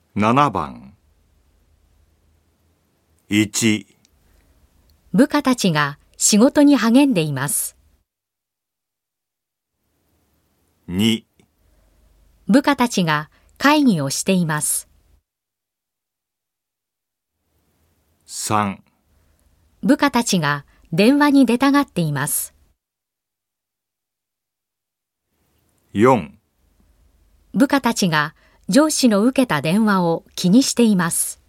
7番。1、 部下たちが仕事に励んでいます。 2、 部下たちが会議をしています。 3、 部下たちが電話に出たがっています。 4、 部下たちが上司の受けた電話を気にしています。